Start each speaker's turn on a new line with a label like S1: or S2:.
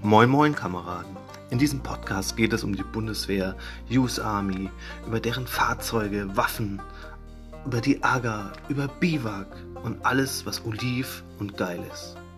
S1: Moin Moin Kameraden, in diesem Podcast geht es um die Bundeswehr, US Army, über deren Fahrzeuge, Waffen, über die AGA, über Biwak und alles, was oliv und geil ist.